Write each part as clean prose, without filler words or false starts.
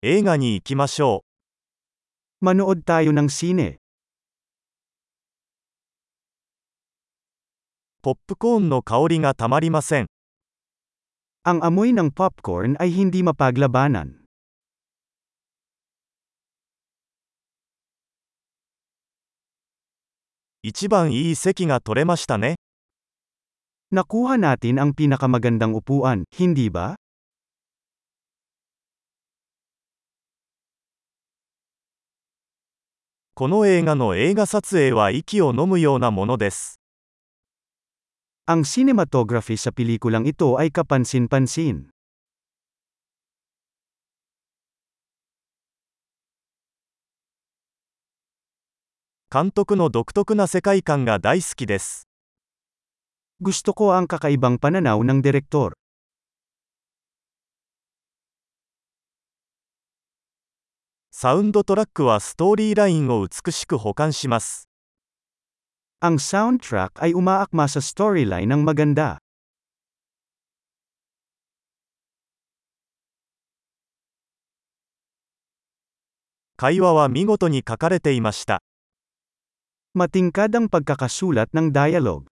映画に行きましょ Manood tayo ng sine. う。ポップコーンの香りがたまりません。 Ang amoy ng popcorn ay hindi mapaglabanan. 一番いい席が取れましたね。 Nakuha natin ang pinakamagandang upuan, hindi ba? この映画の映画撮影は息を飲むようなものです。 Ang cinematography sa pelikulang ito ay kapansin-pansin. 監督の独特な世界観が大好きです。 Gusto ko ang kakaibang pananaw ng direktor. サウンドトラックはストーリーラインを美しく補完します。 Ang soundtrack ay umaakma sa storyline ng maganda. 会話は見事に書かれていました。 Matingkad ang pagkakasulat ng dialogue.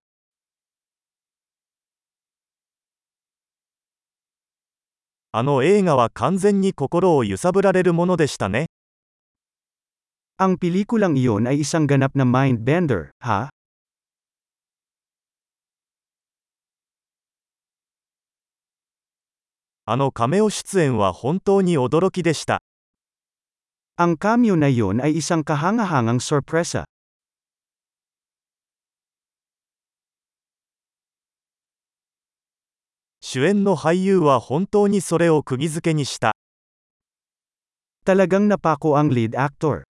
あの映画は完全に心を揺さぶられるものでしたね。 Ang pelikulang iyon ay isang ganap na mind-bender, ha? あのカメオ出演は本当に驚きでした。 Ang cameo na iyon ay isang kahangahangang sorpresa. 主演の俳優は本当にそれを釘付けにした。 Talagang napako ang lead actor.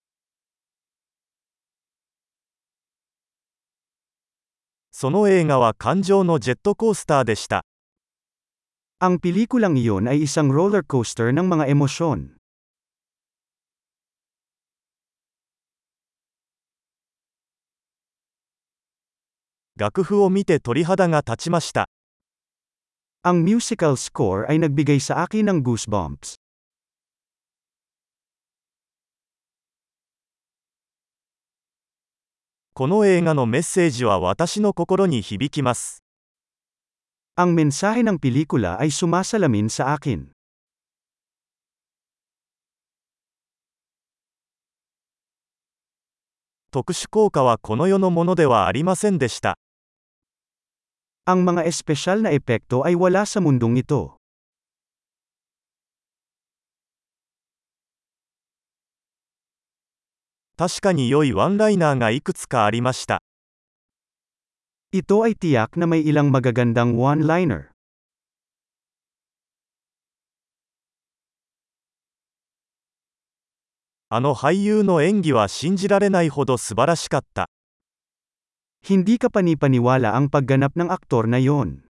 その映画は感情のジェットコースターでした。 Ang pelikulang iyon ay isang roller coaster ng mga emosyon. 楽譜を見て鳥肌が立ちました。 Ang musical score ay nagbigay sa akin ng goosebumps. この映画のメッセージは私の心に響きます。 Ang mensahe ng pelikula ay sumasalamin sa akin. 特殊効果はこの世のものではありませんでした。 Ang mga espesyal na epekto ay wala sa mundong ito. 確かに良いワンライナーがいくつかありました。 Ito ay tiyak na may ilang magagandang one-liner. あの俳優の演技は信じられないほど素晴らしかった。 Hindi ka panipaniwala ang pagganap ng aktor na yon.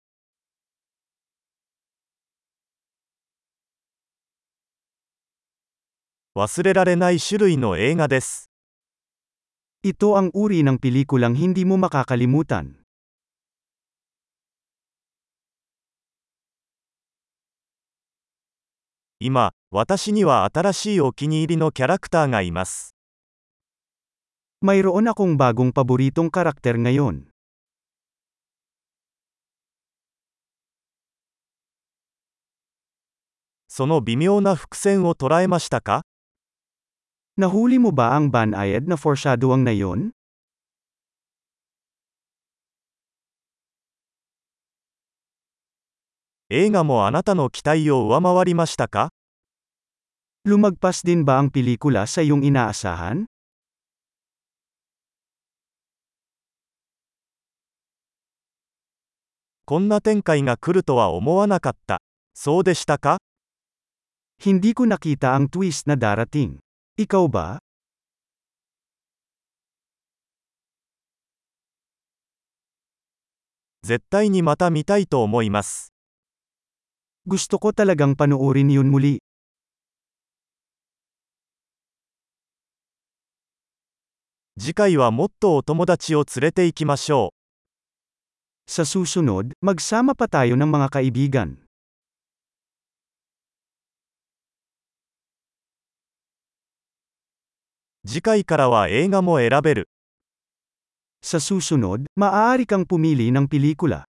忘れられない種類の映画です。 Ito ang uri ng pelikulang hindi mo makakalimutan. 今、私には新しいお気に入りのキャラクターがいます。 Mayroon akong bagong paboritong karakter ngayon. その微妙な伏線を捉えましたか？ Nahuli mo ba ang banayad na foreshadowing na yon? 映画もあなたの期待を上回りましたか？ Lumagpas din ba ang pelikula sa iyong inaasahan? こんな展開が来るとは思わなかった。そうでしたか？ Hindi ko nakita ang twist na darating. Ikaw ba? 絶対にまた見たいと思います。 Gusto ko talagang panoorin yun muli. 次回はもっとお友達を連れて行きましょう。 Sa susunod, magsama pa tayo ng mga kaibigan. 次回からは映画も選べる。 Sa susunod, maaari kang pumili ng pelikula.